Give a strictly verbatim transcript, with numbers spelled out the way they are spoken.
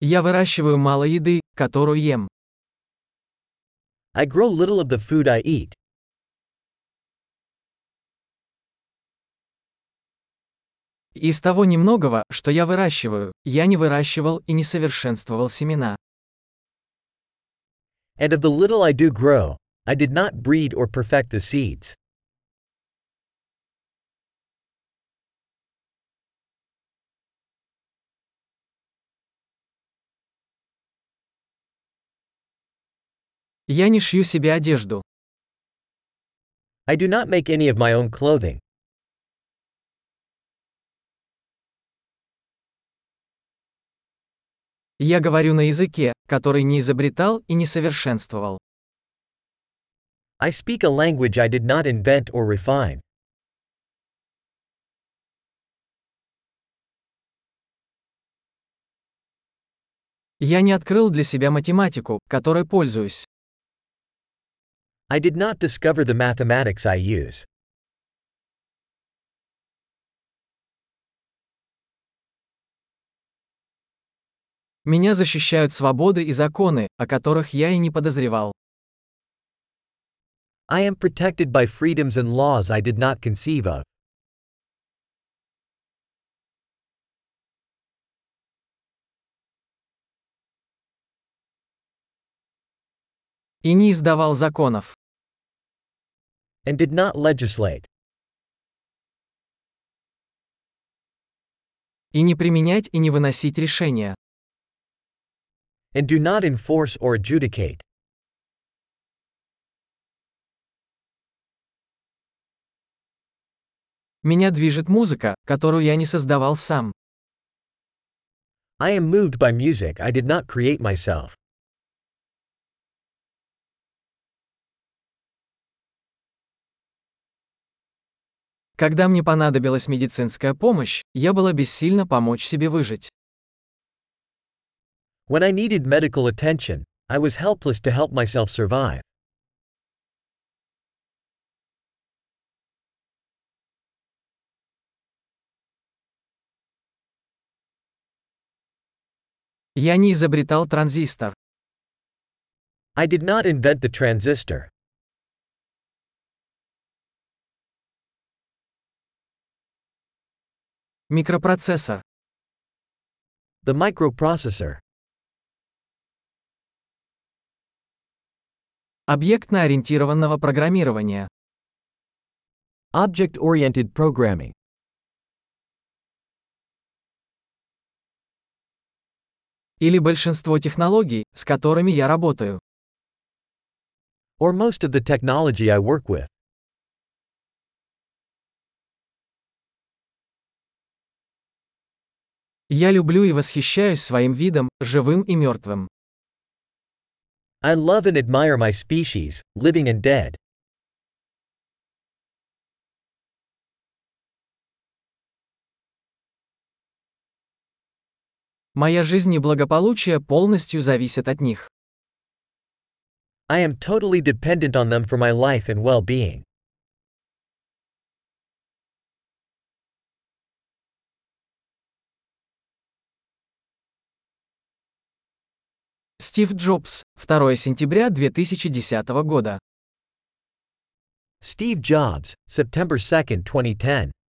Я выращиваю мало еды, которую ем. I grow little of the food I eat. И из того немногого, что я выращиваю, я не выращивал и не совершенствовал семена. And of the little I do grow, I did not breed or perfect the seeds. Я не шью себе одежду. I do not make any of my own clothing. Я говорю на языке, который не изобретал и не совершенствовал. I speak a language I did not invent or refine. Я не открыл для себя математику, которой пользуюсь. I did not discover the mathematics I use. Меня защищают свободы и законы, о которых я и не подозревал. I am protected by freedoms and laws I did not conceive of. И не издавал законов. And did not legislate. И не применять и не выносить решения. And do not enforce or adjudicate. Меня движет музыка, которую я не создавал сам. I am moved by music I did not create myself. Когда мне понадобилась медицинская помощь, я была бессильна помочь себе выжить. When I needed medical attention, I was helpless to help myself survive. Я не изобретал транзистор. I did not invent the transistor. Микропроцессор. The microprocessor. Объектно-ориентированного программирования. Object-oriented programming. Или большинство технологий, с которыми я работаю. Or most of the technology I work with. Я люблю и восхищаюсь своим видом, живым и мертвым. I love and admire my species, living and dead. Моя жизнь и благополучие полностью зависят от них. I am totally dependent on them for my life and well-being. Стив Джобс, второе сентября две тысячи десятого года. Steve Jobs, September second, twenty ten.